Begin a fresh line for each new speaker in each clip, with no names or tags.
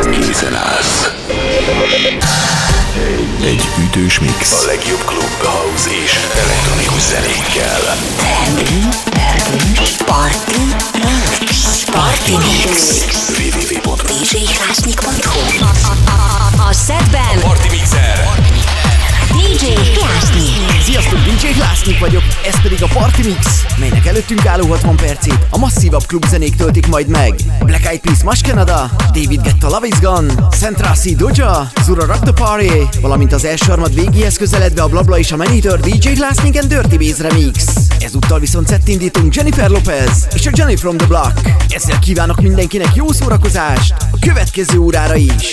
készen állsz. Egy ütős mix a legjobb klub, house és elektronikus zenékkel.
Party Mix.
www.djhlásnyik.hu.
A setben
Party Mixer
DJ Hlásnyik.
Sziasztok, DJ Hlásnyik vagyok, ez pedig a Party Mix, melynek előttünk álló 60 percét a masszívabb klubzenék töltik majd meg. Black Eyed Peas Mash Canada, David Guetta Love Is Gone, Central C Doja, Zura Rock the Party, valamint az első harmad végéhez közeledve a Blabla és a Manator DJ Hlásnyik and Dirty Bass Remix. Ezúttal viszont indítunk Jennifer Lopez és a Jenny from the Block. Ezzel kívánok mindenkinek jó szórakozást a következő órára is.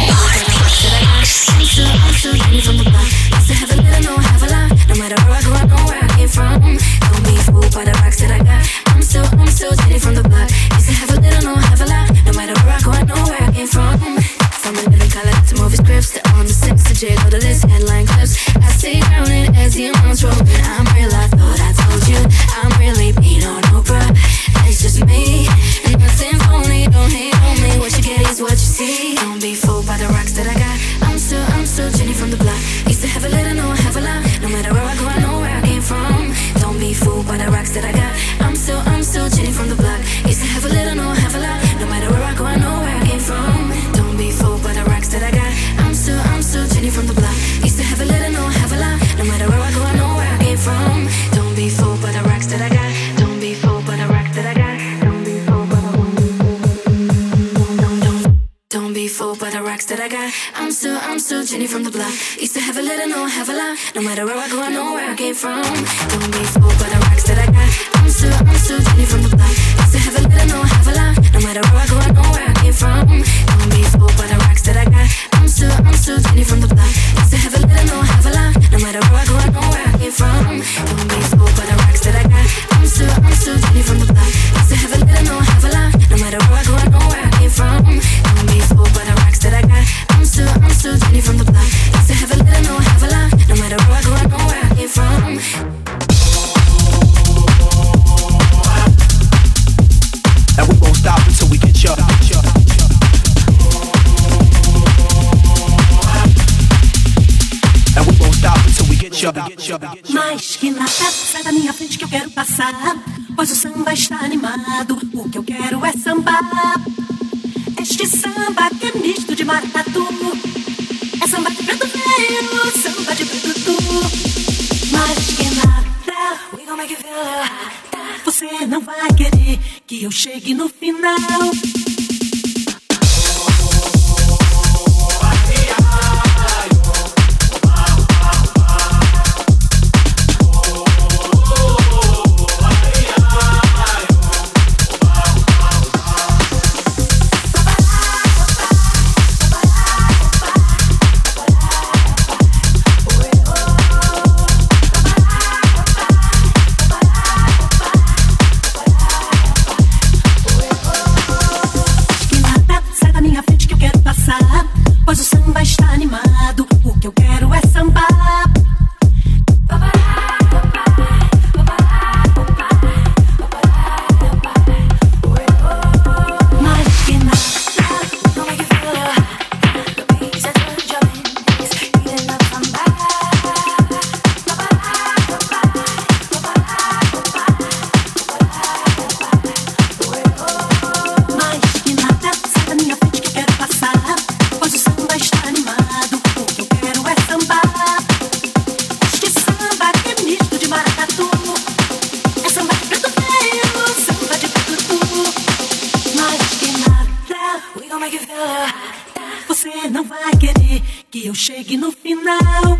No matter where I go, I know where I came from. Don't be fooled by the rocks that I got. I'm still Jenny from the block. Used to have a little, no have a lot. No matter where I go, I know where I came from. From a living color to movie scripts, to on the six to J, go to list, headline clips. I stay grounded as the amounts rolling. I'm real, I thought I told you. I'm really beat on Oprah. It's just me, and nothing phony. Don't hate on me. What you get is what you see. Don't be fooled by the rocks that I got. I'm still Jenny from the block. Used to have a little, no have a lot. No matter where I go, I know where I came from. Don't be fooled by the rocks that I got. I'm still Jenny from the block. Used to have a little, no have a lot. No matter where I go, I know where I came from. Don't be fooled by the rocks that I got. I'm still Jenny from the block. Used to have a little, no have a lot. No matter where I go, I know where I came from. Don't be fooled by the rocks that I got. Don't be fooled by the rocks that I got. Don't be fooled by the Don't be fooled by the rocks that I got. I'm still Jenny from the block. Used to have a little, no have a lot. No matter where I go, I know where I came from. Don't be fooled by the rocks that I got. I'm still Jenny from the block. Used to have a little, no have a lot. No matter where I go, I know where I came from. Don't be fooled by the rocks that I got. I'm still Jenny from the block. Used to have a little, no have a lot. No matter where I go, I know where I came from. Don't be fooled by the rocks that I got. I'm still Jenny from the block. Used to have a little, no have a lot. No matter where I go, I know where I came from. Don't be fooled by the rocks that I got. I'm still Jenny from the block. Used to have a little, no have a lot. No matter where I go, I know where I came from.
And we won't stop until we get you. And we won't stop until we get you.
Mas que nada, sai da minha frente que eu quero passar. Pois o samba está animado. O que eu quero é sambar. Este samba que é misto de maracatu. É samba de preto velho, samba de preto tu. Mas que nada, we gon' make you feel it. Você não vai querer que eu chegue no final. Pois o samba está animado. O que eu quero é sambar. Mas que nada, como é que fala? The beats are jumping, eating up samba. Mas que nada, sai da minha frente que eu quero passar. Pois o samba está animado, o que eu quero é sambar. Este samba que é misto de maracatu. É samba de preto velho, samba de preto tu. Mas que nada, we gon' make you feel it. Você não vai querer que eu chegue no final.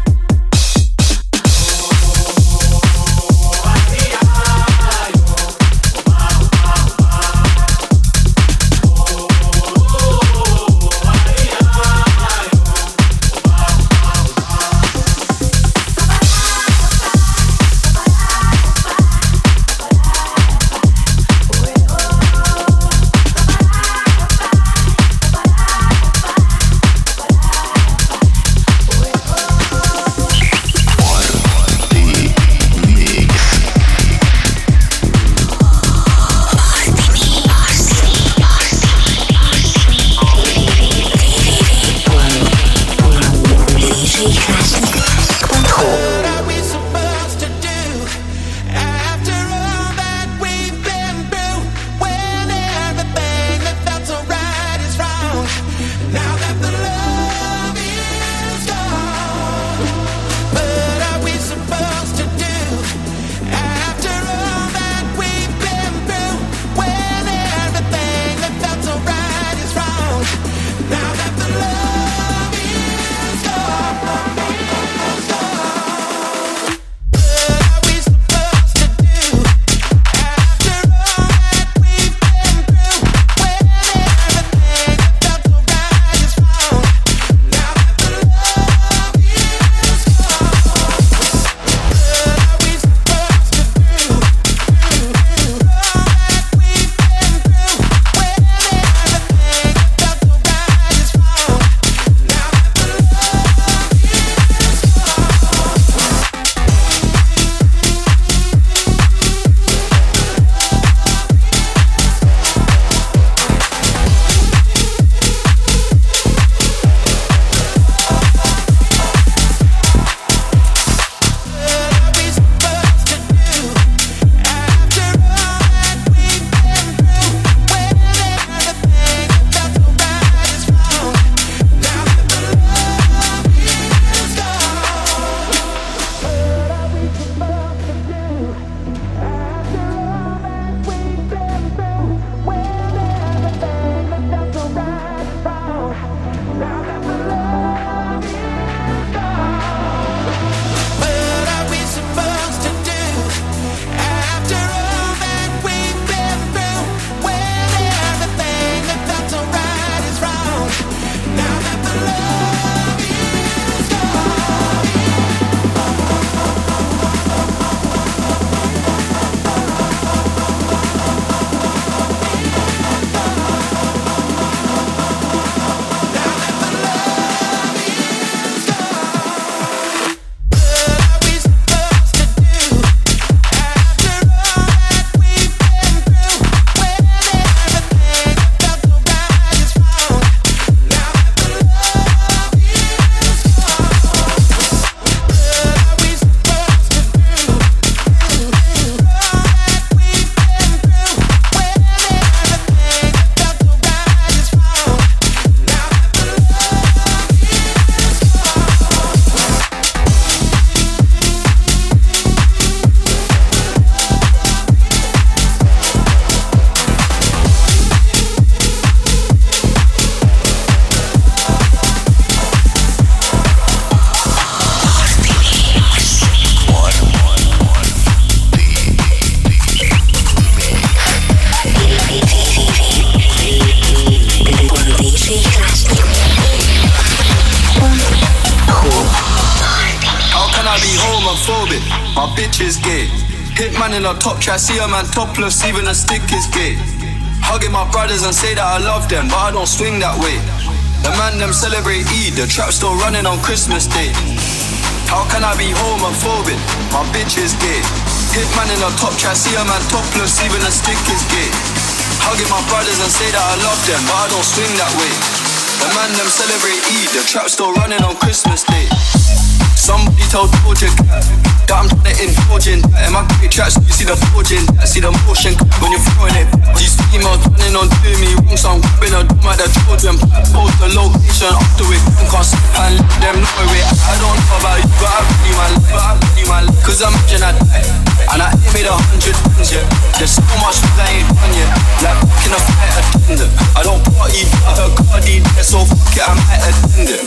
my bitch is gay. Hitman in a top try, see a man topless, even a stick is gay. Hugging my brothers and say that I love them, but I don't swing that way. The man them celebrate Eid, the trap still running on Christmas Day. How can I be homophobic? My bitch is gay. Hitman in a top try, see a man topless, even a stick is gay. Hugging my brothers and say that I love them, but I don't swing that way. The man them celebrate Eid, the trap still running on Christmas Day. Somebody told Georgia that I'm trying to indulge in that. In my great tracks, you see the forging, I see the motion when you're throwing it. These females running on doing me wrong, so I'm grabbing a drum at the children. Post the location after it, I can't sleep and let them know it. I don't know about you, but I really my life, cause I'm imagine I die, and I ain't made 100 tons yet. There's so much that I ain't done yet. Like back in a flight attendant, I don't party, but I cardi there, so fuck it, I might attend it.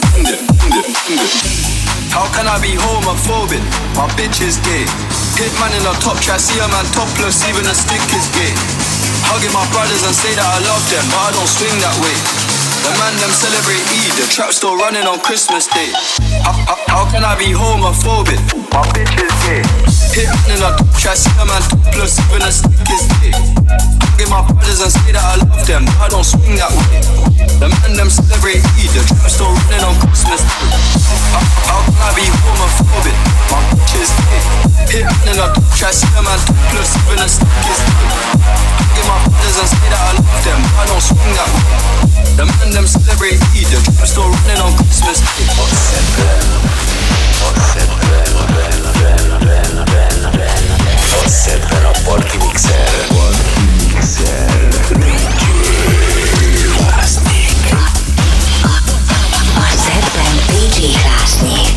How can I be homophobic? My bitch is gay. Hitman in a top try, see a man topless, even a stick is gay. Hugging my brothers and say that I love them, but I don't swing that way. The man them celebrate Eid, the trap still running on Christmas Day. How can I be homophobic? My bitch is gay. Hitman in a top try, see a man topless, even a stick is gay. Hugging my brothers and say that I love them, but I don't swing that way. The man them celebrate Eid, the trap still running on Christmas Day. How can I be homophobic? My bitch is gay. Hitman in a top try, see a man topless, even a stick is gay. Hugging my brothers and say that I love them, but I don't swing that way. The man them celebrate Eid, the trap still running on Christmas Day.
Forse per a Porky Mixer. DJ Krasnik.
A szedben DJ Krasnik.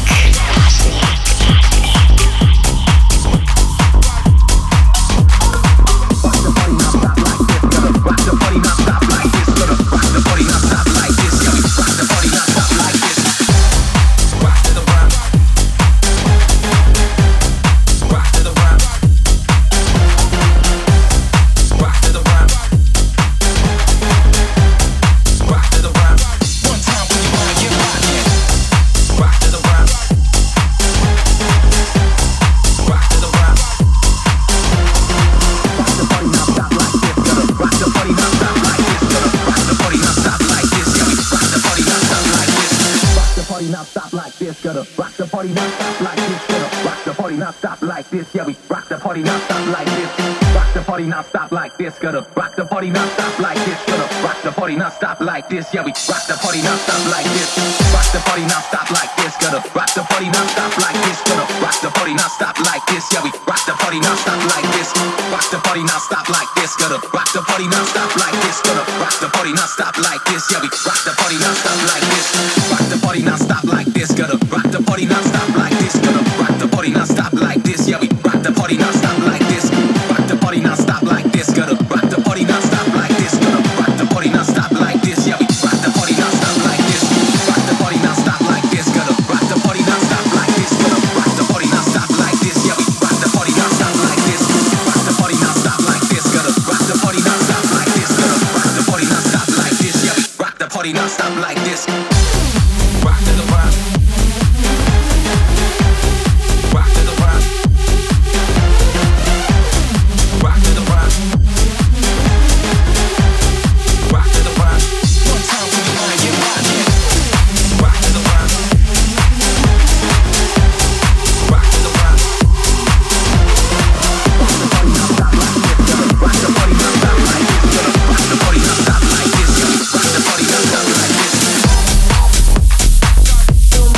Yeah, we rock the party, not stop like this. Rock the party, not stop like this. Gonna rock the party, not stop like this. Gonna rock the party, not stop like this. Yeah, we rock the party, not stop like this. Rock the party, not stop like this. Gonna rock the party, not stop like this. Gonna rock the party, not stop like this. Yeah, we rock the party, not stop like this. Rock the party, not stop like this. Gonna rock the party, not stop like this. Gonna rock the party, not stop like this. Yeah, we rock the party, not stop like this. Rock the party, not stop like this. Gonna rock the party, not stop like this. Gonna rock the party, not stop like this. Yeah, we rock the party, not stop like this. Rock the party, not stop like this. Gonna rock the party, not stop like this. Gonna rock the party, not stop like this. Yeah, we rock the party, not stop like this. Rock the party, not stop like this. Gonna rock the party, not stop like this. Gonna rock the party, not stop like this. Yeah, we rock the party, not stop like this. Rock the party, not stop like this. Gonna rock the party, not stop like this. Gonna rock the party, not stop like this. Yeah, we rock the party, not stop like this. Rock to the rock. Rock to the rock. Rock to the rock. Rock to the rock. One time when you wanna get rockin'. Rock to the rock. Rock to the rock. Rock the party, not stop like this. Rock the party, not stop like this. Rock the party, not stop like this.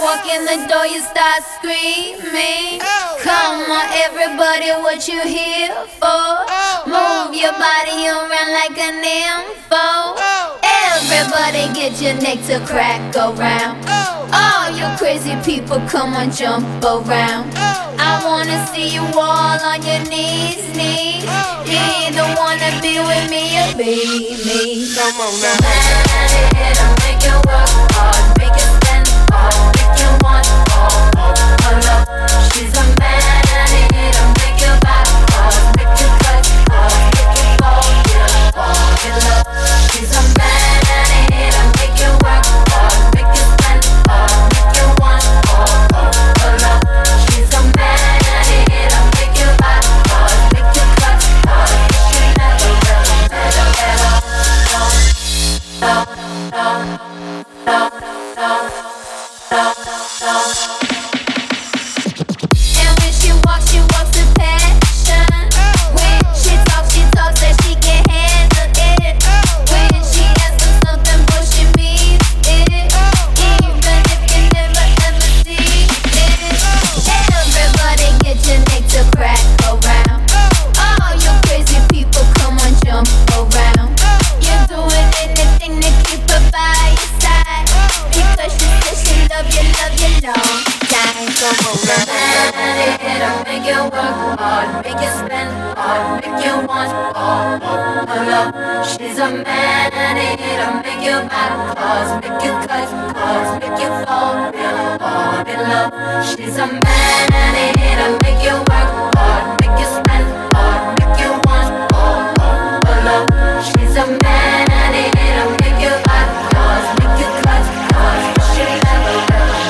walk in the door, you start screaming. Come on, everybody, what you here for? Move your body around like an info. Everybody get your neck to crack around. All you crazy people, come on, jump around. I wanna see you all on your knees. You either wanna be with me or be me.
Come on now.
I'll make you work hard, make you spend hard, make you want all her love. She's a man, I'll make you back hard, make you cut hard, make you fall in love. She's a man, I'll make you work hard, make you spend hard, make you want all her love. She's a man, I'll make you back hard, make you cut hard. She never and when she walks with passion. When she talks that she can handle it. When she asks for something, but she means it. Even if you never ever see it. Everybody get your neck to crack around. All you crazy people, come on, jump around. You're doing anything to keep her by your side. Because she says she love you long time.
Come on now.
I'll make you work hard, make you spend hard, make you want all her love. She's a man, I'll make you back cause, make you cut cause, make you fall real hard in love. She's a man, I'll make you work hard, make you spend hard, make you want all her love. She's a man, I'll make you back cause, make you cut cause, she never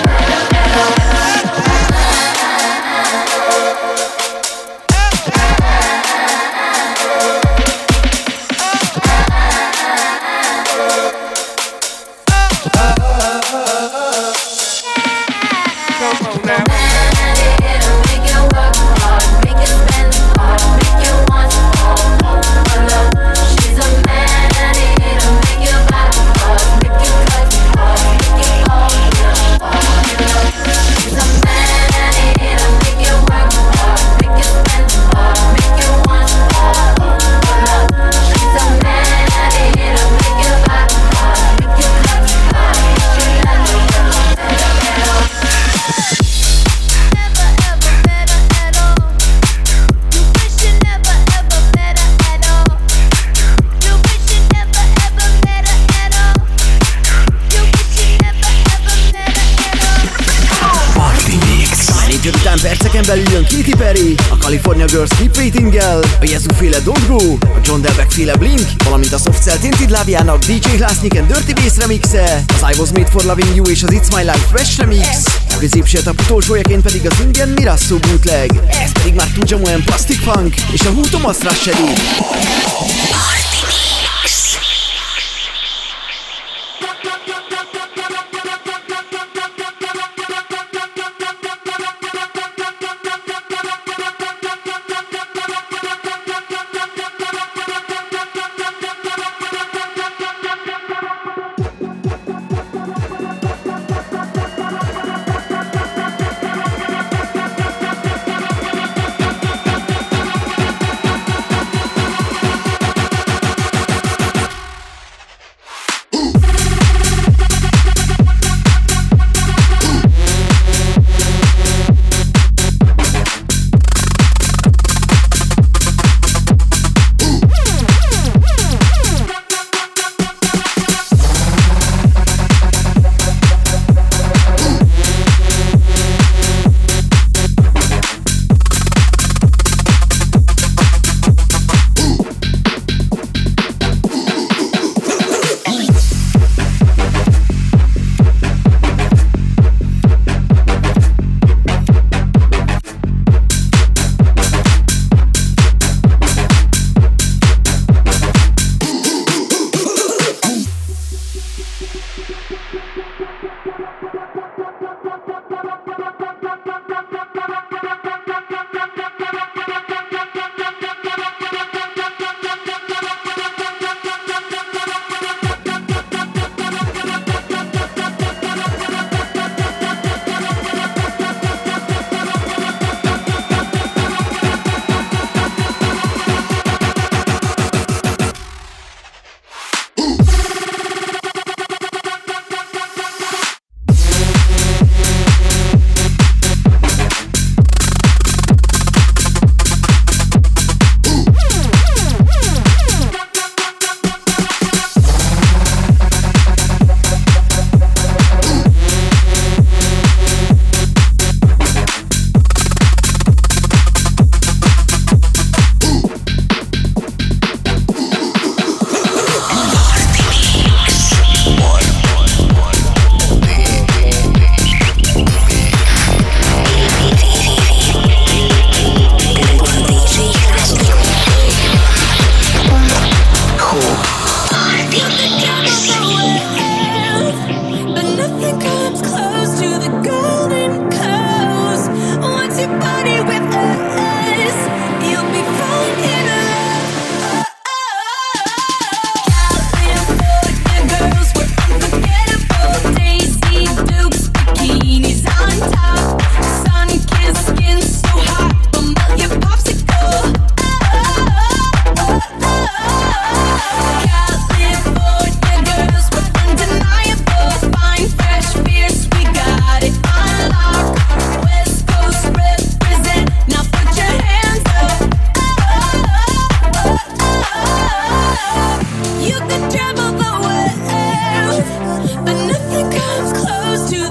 perceken belül jön Katy Perry, a California Girls Keep Waiting-gel, a Yezu-féle Don't Go, a John Delbeck-féle Blink, valamint a Soft Cell Tinted Lábjának DJ Hlásznyik and Dirty Bass remixe, az I Was Made For Loving You és az It's My Life Fresh remix, a középső etap utolsójaként pedig az Indian Mirasso bootleg, ez pedig már Tuja Moen Plastic Funk és a Who Thomas Rashedi.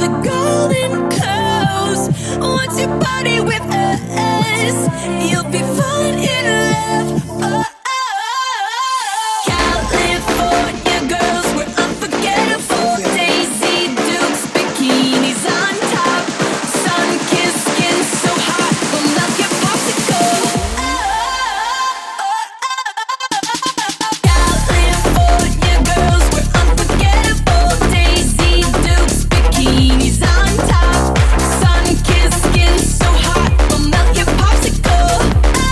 golden clothes. Once you party with us, you'll be falling in love. Oh, California girls, we're unforgettable. Daisy Dukes, bikinis on top. Sun-kissed skin so hot, we'll melt your popsicle. California girls, we're unforgettable. Daisy Dukes, bikinis on top. Sun-kissed skin so hot, we'll melt your popsicle.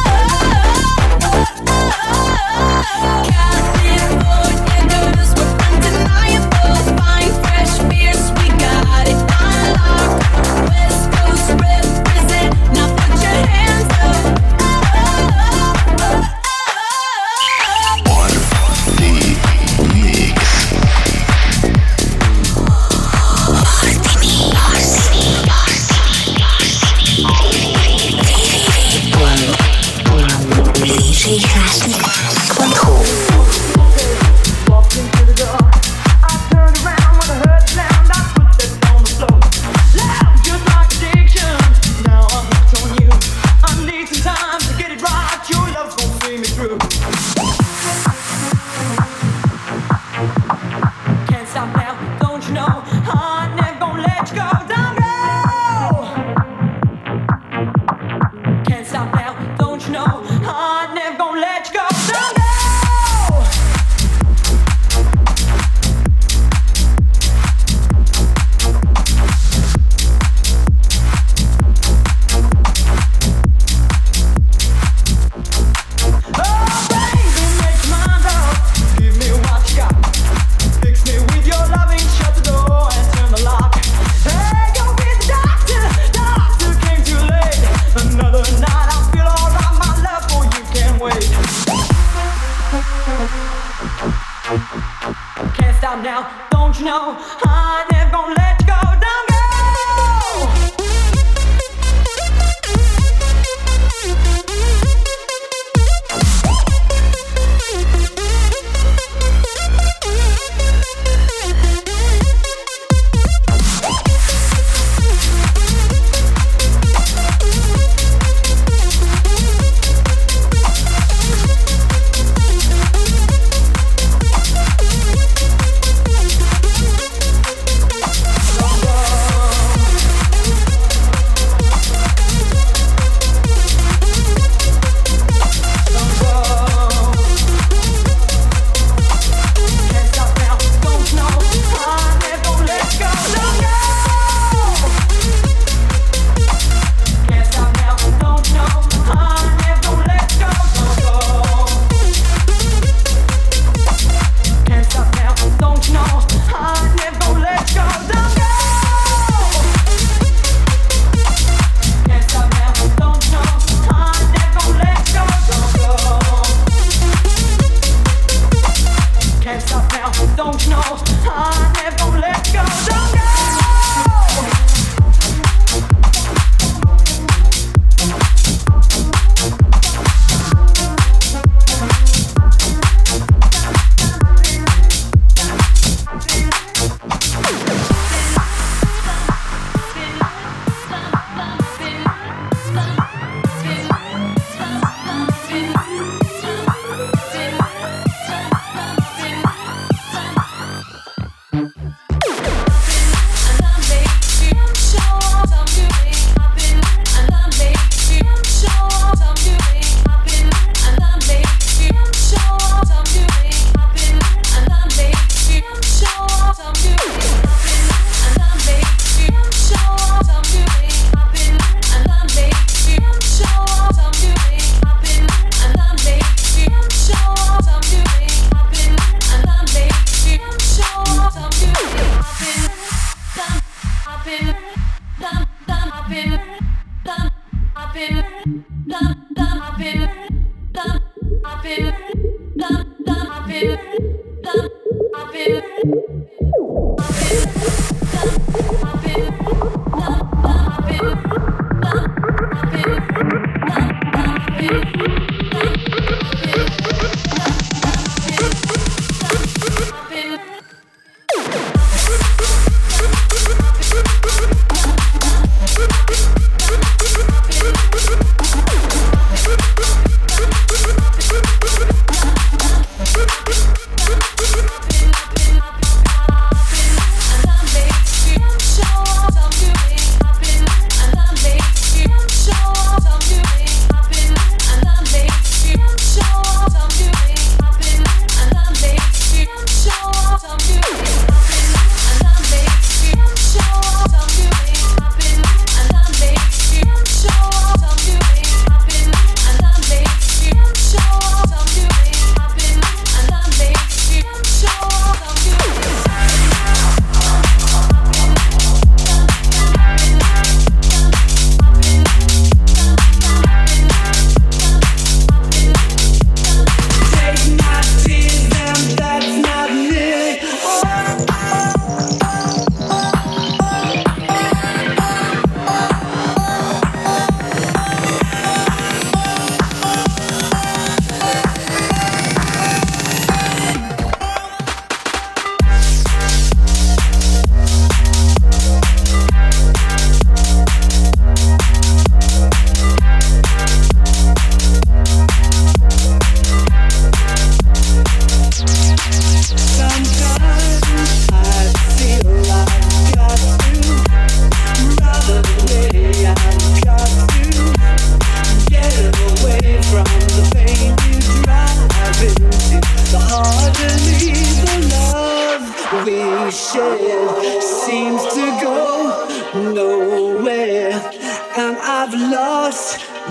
California girls, we're undeniable. Fine, fresh, fierce, we got it on lock. West Coast represent, now put your hands up.
DJKlasnik.com.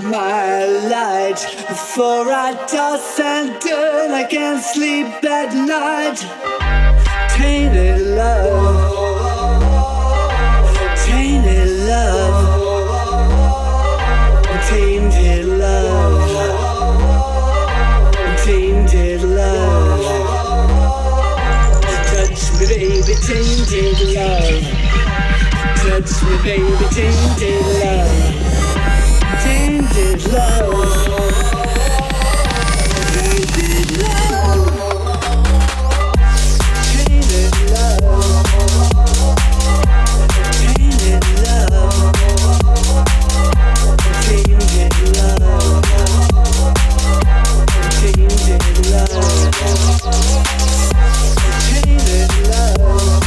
my light, for I toss and turn, I can't sleep at night. Tainted love, tainted love, tainted love, tainted love. Touch me, baby, tainted love. Touch me, baby, tainted love. Tainted love. Tainted love. Tainted love. Tainted love. Tainted love. Tainted love. Tainted love.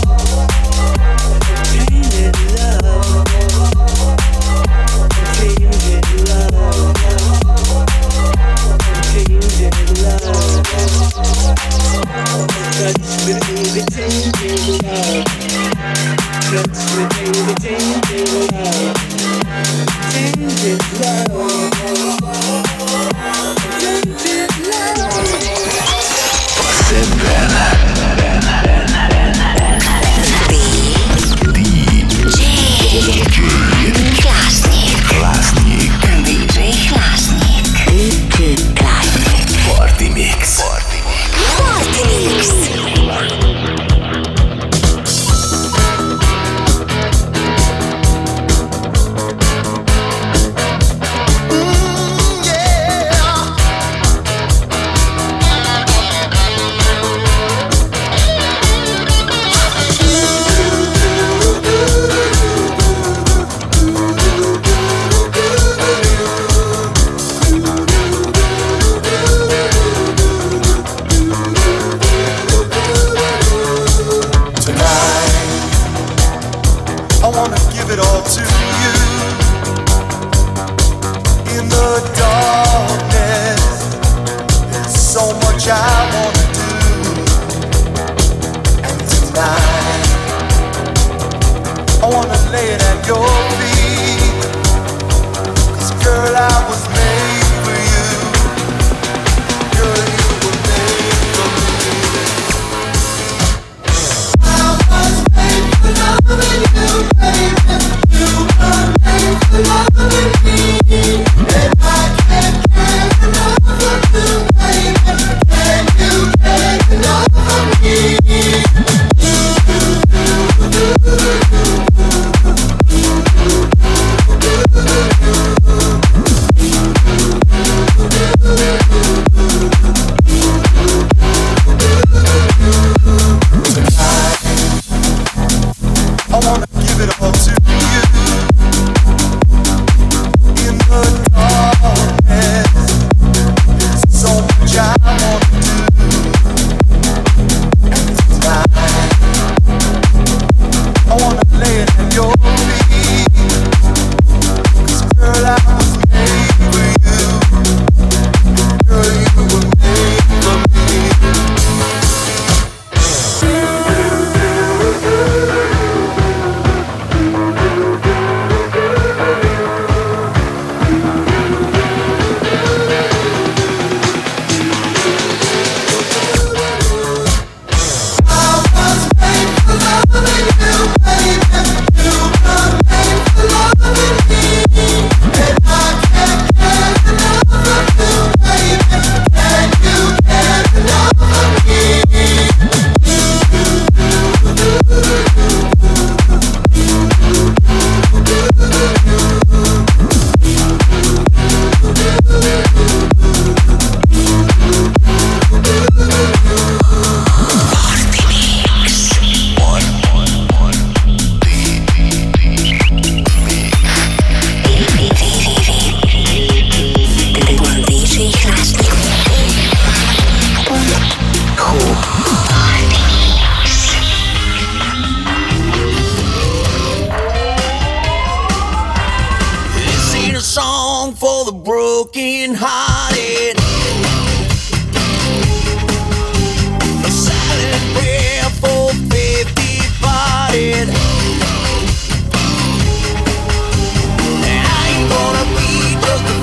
Tainted love. Tainted love. Tainted love. Touch me, baby, tainted love. Touch me, baby, tainted love. Tainted love. Tainted love.
Klasnik.
DJ Klasnik.
Party Mix.
Party Mix.
broken hearted. A silent prayer for faith departed. I ain't gonna be just a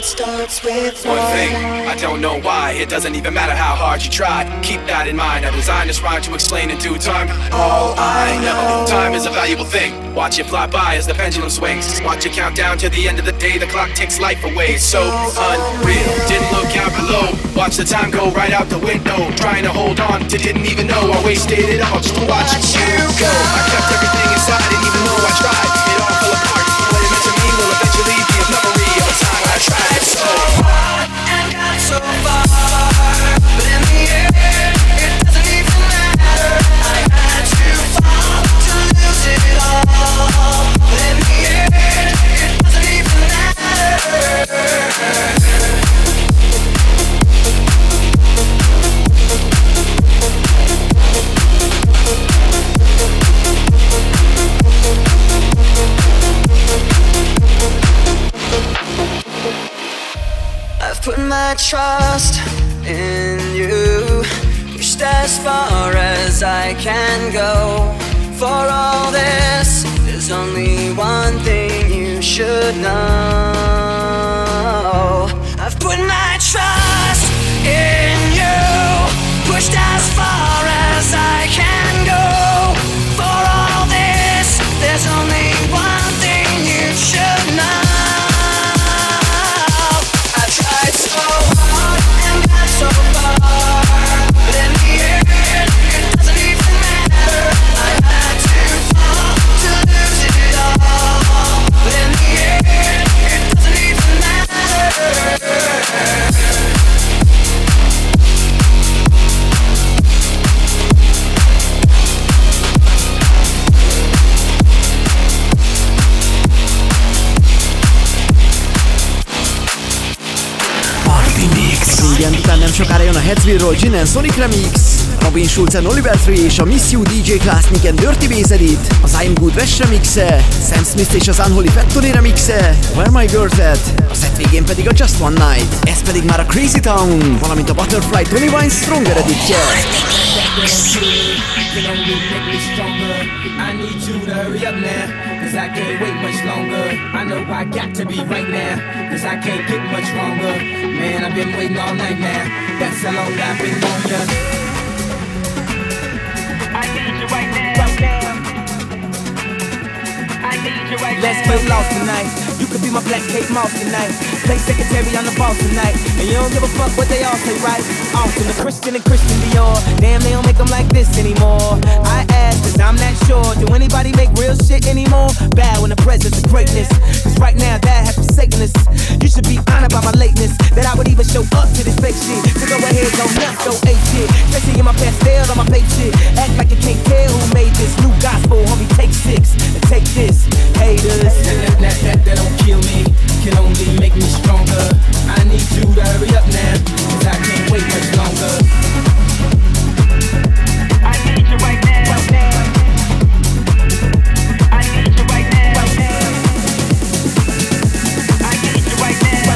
starts with
one thing, I don't know why. It doesn't even matter how hard you try. Keep that in mind. I designed this rhyme to explain in due time. All I know, time is a valuable thing. Watch it fly by as the pendulum swings. Watch it count down to the end of the day. The clock takes life away. It's so unreal. Didn't look out below. Watch the time go right out the window. Trying to hold on to didn't even know I wasted it all just to watch you go. I kept everything inside, and even though I tried, it all fell apart. What it meant to me will eventually be a memory of a time I tried so hard and got so far, but in the end, it doesn't even matter. I had to fall to lose it all, but in the end, it doesn't even matter. I've put my trust in you, pushed as far as I can go. For all this, there's only one thing you should know. I've put my trust in you, pushed as far as I can go. For all this, there's only one thing you should know. So hard and got so far, but in the end, it doesn't even matter. I had to fall to lose it all, but in the end, it doesn't even matter.
Igen, után nem sokára jön a Headsville-ról Gin and Sonic Remix, Robin Schulz and Oliver Tree és a Miss You DJ Klasnik and Dirty Bass Edit, az I'm Good West remixe, Sam Smith és az Unholy Factory remixe, Where My Girl's At, a set végén pedig a Just One Night, ez pedig már a Crazy Town, valamint a Butterfly Tony Vine Stronger editje.
I can't wait much longer. I know I got to be right now, cause I can't get much longer. Man, I've been waiting all night now. That's how long I've been on ya. I need you right now. I need you right now. Let's get lost tonight. You could be my black Kate Moss tonight. Play secretary on the boss tonight. And you don't give a fuck what they all say, right? Awesome, the Christian and Christian Dior. Damn, they don't make them like this anymore. I ask, cause I'm not sure. Do anybody make real shit anymore? Bow in the presence of greatness. Cause right now that has forsaken us. You should be honored by my lateness, that I would even show up to this fake shit. So go ahead, go nuts, go ape shit. Especially in my pastel on my fake shit. Act like you can't tell who made this new gospel. Homie, take 6 and take this. Haters. That don't kill me, can only make me stronger. I need you to hurry up now, cause I can't wait much longer. I need you right now. I need you right now. I need you right now.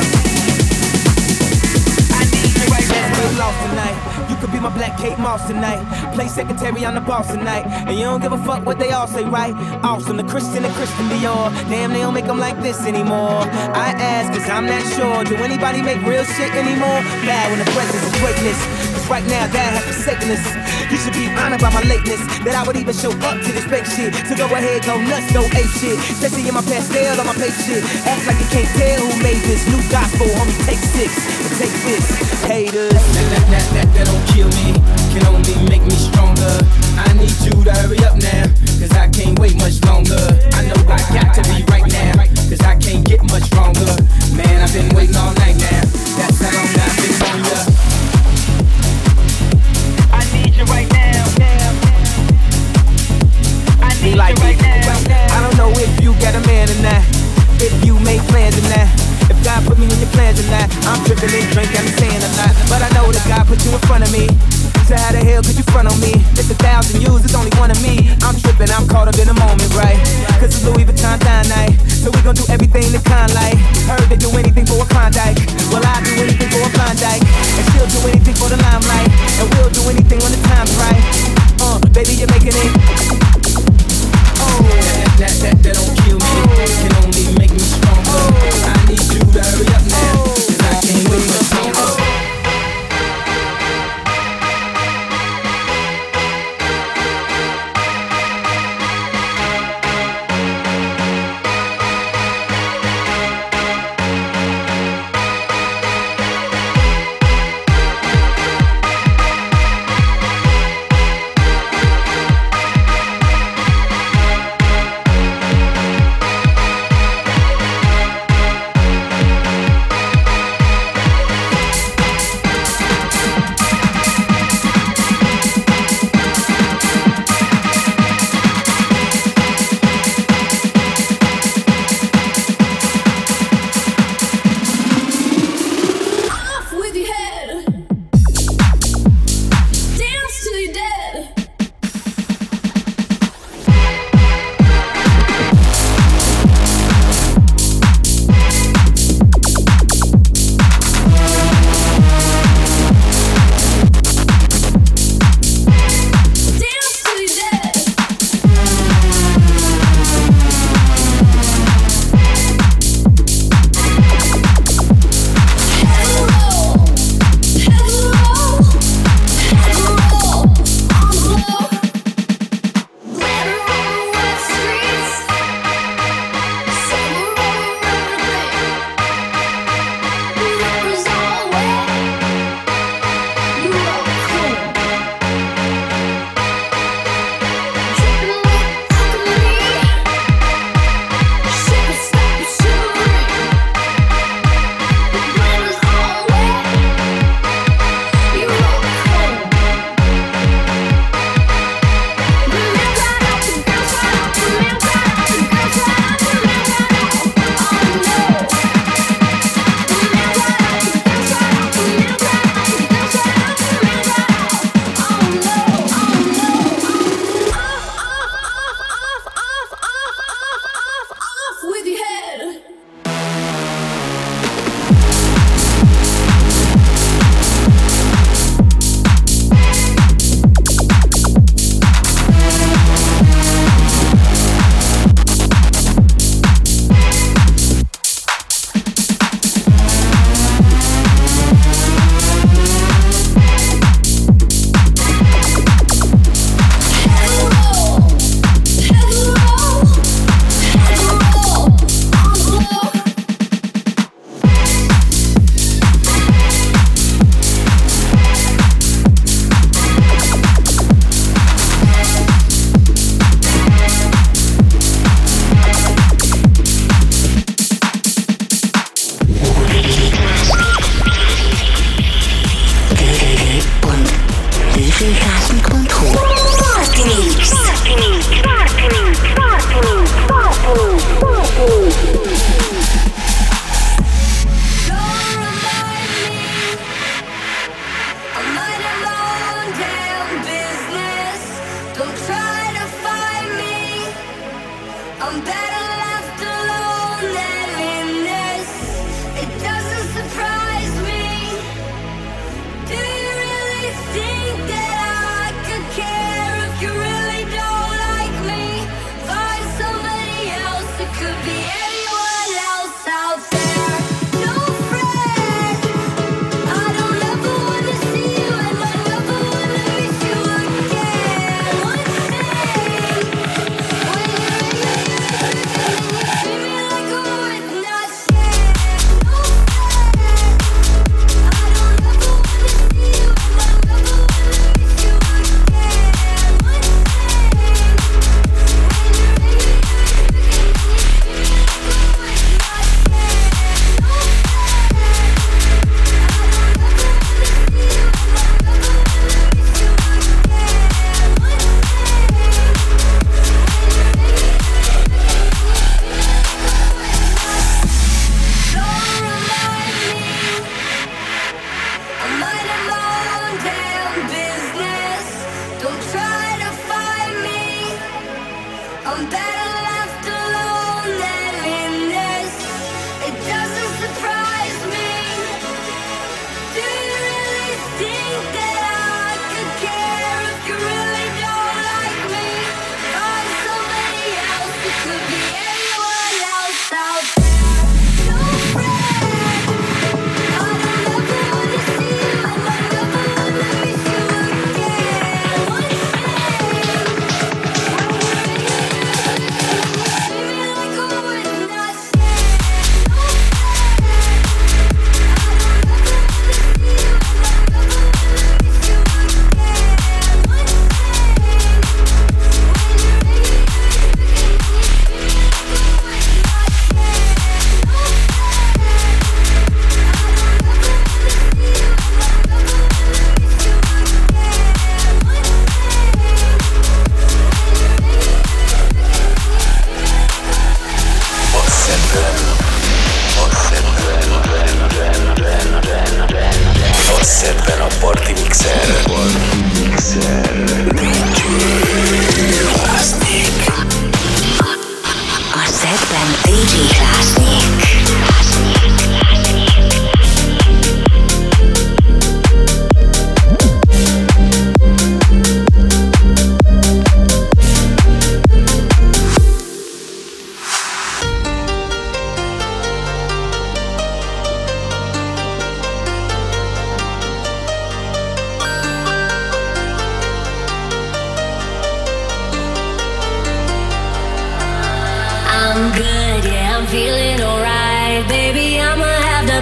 I need you right now. Let's get lost tonight. You could be my black Kate Moss tonight. Play secretary on the boss tonight. And you don't give a fuck what they all say, right? Awesome, the Christian and Christian Dior. Damn, they don't make them like this anymore. I ask, cause I'm not sure. Do anybody make real shit anymore? Bow in the presence of greatness. Cause right now that has forsaken us. You should be honored by my lateness, that I would even show up to this fake shit. So go ahead, go nuts, go ape shit. Especially in my pastel on my fake shit. Act like you can't tell who made this new gospel. Homie, take 6 and take this. Haters. That don't kill me, can only make me stronger. I need you to hurry up now, cause I can't wait much longer. I know I got to be right now, cause I can't get much stronger. Man, I've been waiting all night now. That's how long I've been on ya. I need you right now. I need you right now. I don't know if you got a man or not, if you make plans or not. If God put me in your plans or not, I'm tripping and drinking, I'm saying or not. But I know that God put you in front of me. So how the hell could you front on me? It's 1,000 views, it's only one of me. I'm tripping, I'm caught up in the moment, right? Cause it's Louis Vuitton dine night, so we gon' do everything the kind like. Heard they do anything for a Klondike. Well, I'll do anything for a Klondike. And she'll do anything for the limelight. And we'll do anything when the time's right. Baby, you're making it. That don't kill me, can only make me stronger. I need you to hurry up now.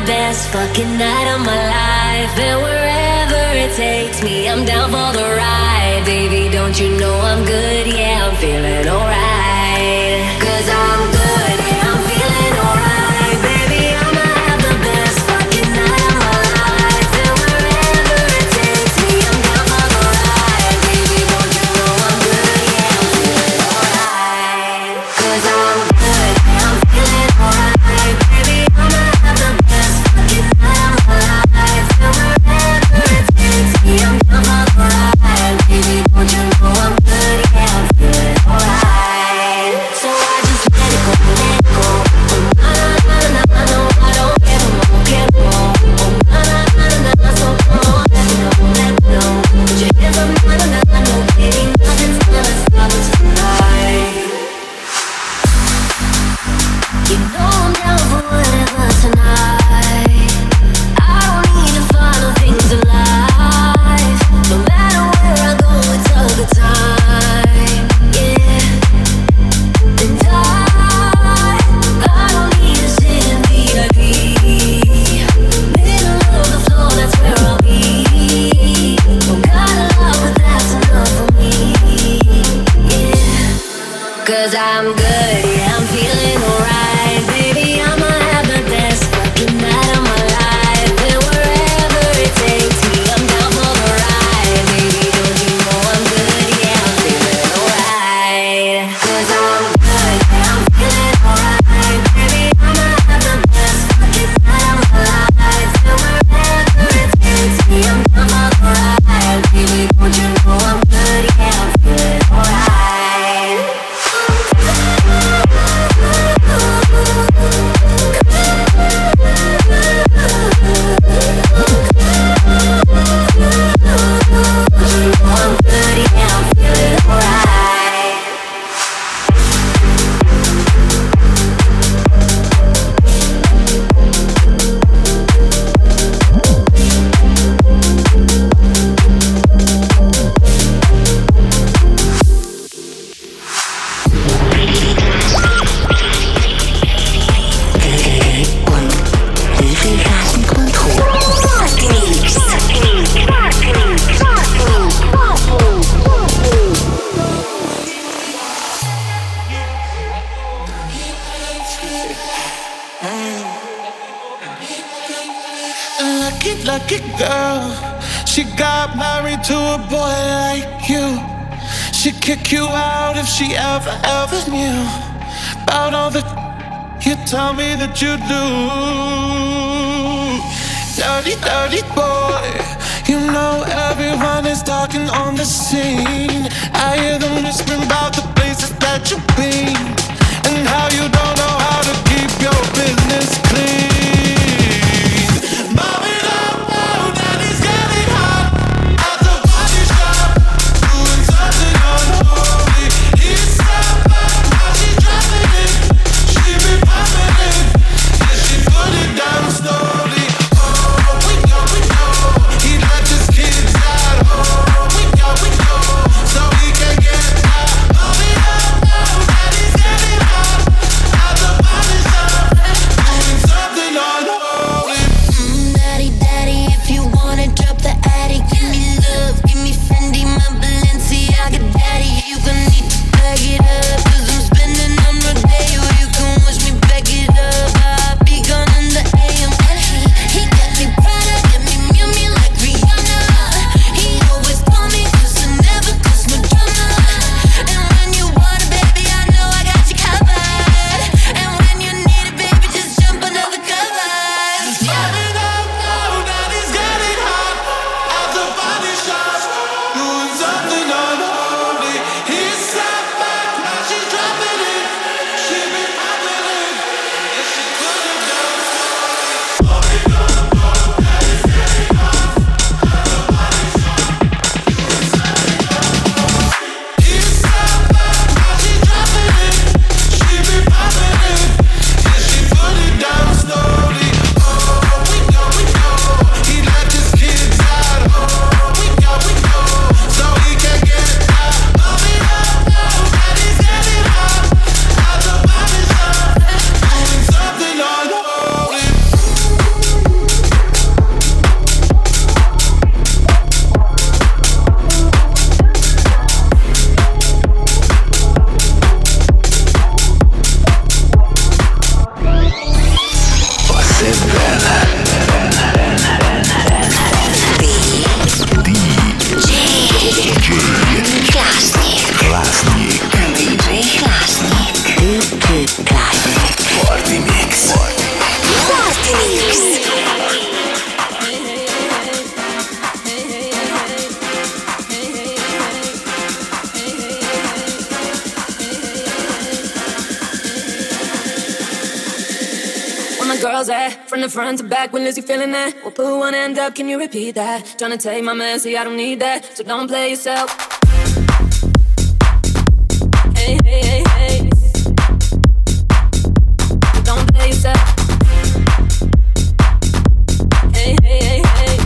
best fucking night of my life. And wherever it takes me, I'm down for the ride. Baby, don't you know I'm good? Yeah, I'm feeling alright. 'Cause I'm good, yeah, I'm feeling alright. Baby, I'ma have the best fucking night of my life. And wherever it takes me, I'm down for the ride. Baby, don't you know I'm good? Yeah, I'm feeling alright. 'Cause I'm good, yeah, I'm feeling alright. Baby, I'ma have the best fucking night of my life. And wherever it takes me, I'm down for the ride. Baby, don't you know I'm good? Yeah, I'm feeling alright. So I just let it go, let it go. Oh na na na na, no, I don't care no more, care no more. Oh na na na na, so come on, let me know, let me know. Put your hands up, na na na, no, baby, nothing's gonna stop us tonight. You know I'm down for whatever tonight. I don't need to follow things in life. No matter where I go, it's a good time. Yeah. And I don't need to sit in VIP. Middle of the floor, that's where I'll be. Don't gotta love, but that's enough for me. Yeah. 'Cause I'm good, yeah, I'm feeling alright. Baby, I'ma have the best fucking night of my life. And wherever it takes me, I'm down for the ride. Baby, don't you know I'm good? Yeah, I'm feeling alright. 'Cause I'm good, yeah, I'm feeling alright. Baby, I'ma have the best fucking night of my life. And wherever it takes me, I'm down for the ride. Baby, don't you know I'm good? Yeah, I'm feeling alright.
Lucky girl, she got married to a boy like you. She'd kick you out if she ever knew about all the you tell me that you do. Dirty boy, you know everyone is talking on the scene. I hear them whispering about the places that you've been and how you don't know how to keep your business clean. Something
girls at? From the front to back, when is you feeling that? We'll put one end up, can you repeat that? Tryna take my man, see I don't need that, so don't play yourself. Hey, hey, hey, hey. So don't play yourself. Hey, hey, hey, hey.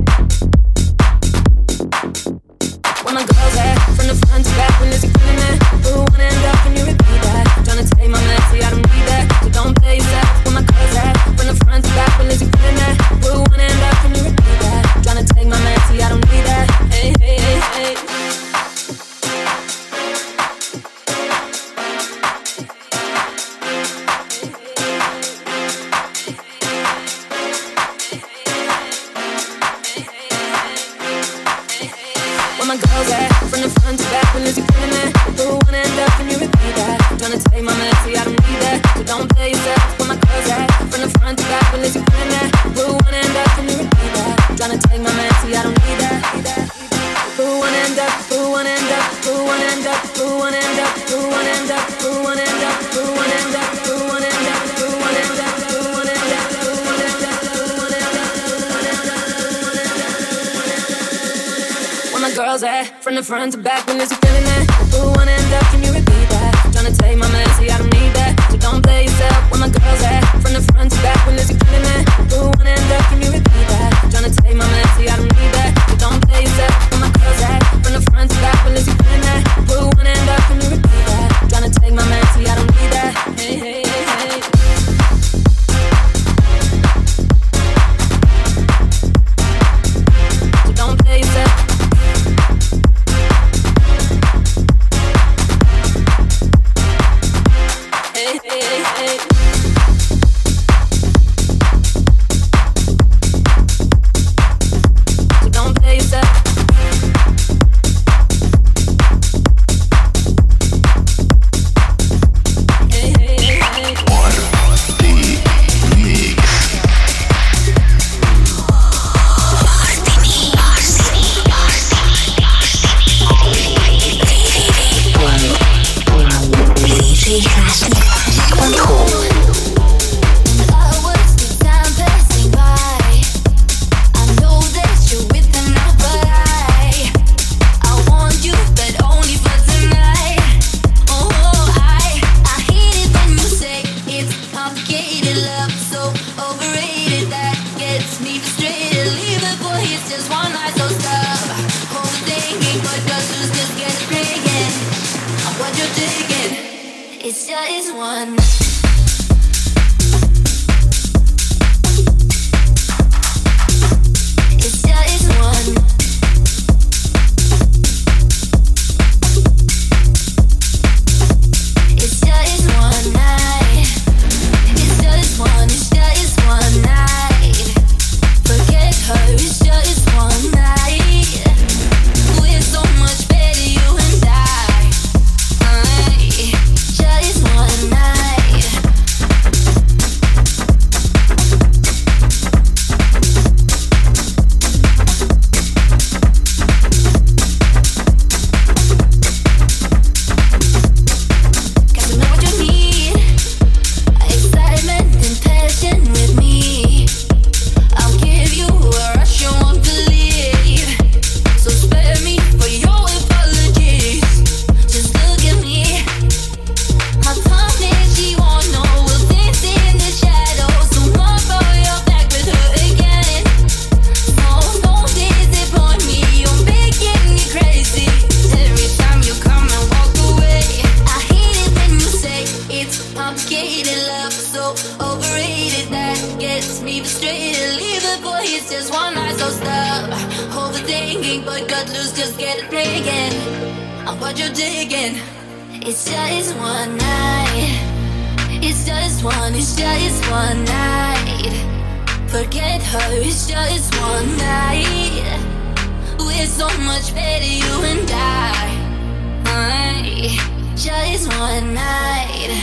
Where my girls at? From the front to back, when is you feeling that? Put one end up, can you repeat that? Tryna take my man, see I don't need that, so don't play yourself. Where my girls at? From the front to back, when is you feeling that? Put one end up, can you repeat that? Tryna take my man, see I don't need that. Hey, hey, hey, hey. Where my girls at? From the front to back, when is you feeling that? Put one end up, can you repeat that? Tryna take my man, see I don't need that, so don't play yourself. Where my girls at? From the front to back, when is you feeling that? Put one end up, can you repeat that? Tryna take my man, see I don't need that. Put one end up, put one end up, put one end up, put one end up, put one end up, put one end up, put one end up, put one end up, put one end up, put one end up, put one end up, put one end up, put one end up. Where my girls at? From the front to back, when is you feeling that? Put one end up, can you repeat that? Tryna take my man, see I don't need that, so don't play yourself. Where my girls at? From the front to back, when is you feeling that? Put one end up, can you repeat that? Tryna take my man, see I don't need that, so don't play yourself. Where my girls at? From the front to back, when is you feeling that? Put one end up, can you repeat that? Tryna take my man, see I don't need that. Hey, hey, hey, hey. So don't play yourself. Hey, hey, hey, hey. So don't play yourself. Hey, hey, hey, hey. It's just one. It's just one. It's just one night. It's just one. It's just one night. Forget her. It's just one night. We're so much better, you and I. Just one night. Got to know what you need. Excitement and passion with me. I'll give you a rush you won't believe. So spare me for your apologies. Just look at me. I promise she won't know. We'll dance in the shadows. Tomorrow you're back with her again. No, don't disappoint me. You're making me crazy. Every time you come and walk away, I hate it when you say it's complicated love, so overrated. That gets me frustrated. Leave it, boy, it's just one night, so stop overthinking. But cut loose, just get it breaking. I'm what you're digging. It's just one night. It's just one. It's just one night. Forget her. It's just one night. We're so much better, you and I. Just one night.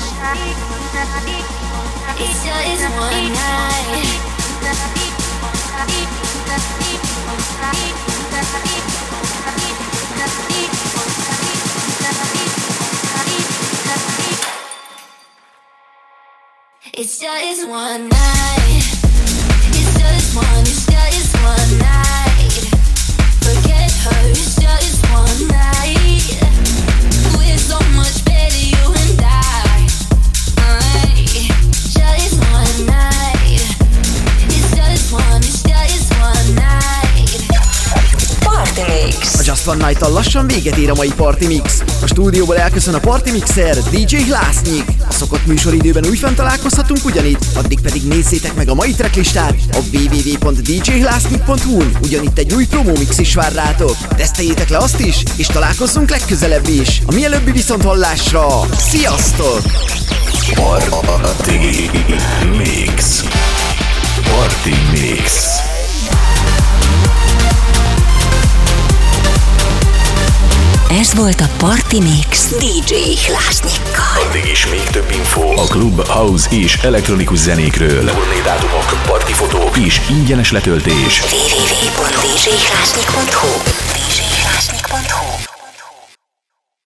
It's just one night. It's just one night. It's just one night. Forget her, it's just one night. We're so much better, you and I. Just one night. It's just one night.
Party Mix.
A Just One Night-tal lassan véget ér a mai Party Mix. A stúdióból elköszön a Party Mixer, DJ Hlásnyik. A szokott műsoridőben újfent találkozhatunk ugyanitt, addig pedig nézzétek meg a mai tracklistát a www.djhlásnyik.hu-n. Ugyanitt egy új promómix is vár rátok. Teszteljétek le azt is, és találkozzunk legközelebb is. A mielőbbi viszonthallásra. Sziasztok!
Party Mix. Party Mix.
Ez volt a Party Mix DJ Hlásnyikkal.
Addig is még több info a klub, house és elektronikus zenékről. Turnédátumok, partifotók és ingyenes letöltés.
www.djhlásnyik.hu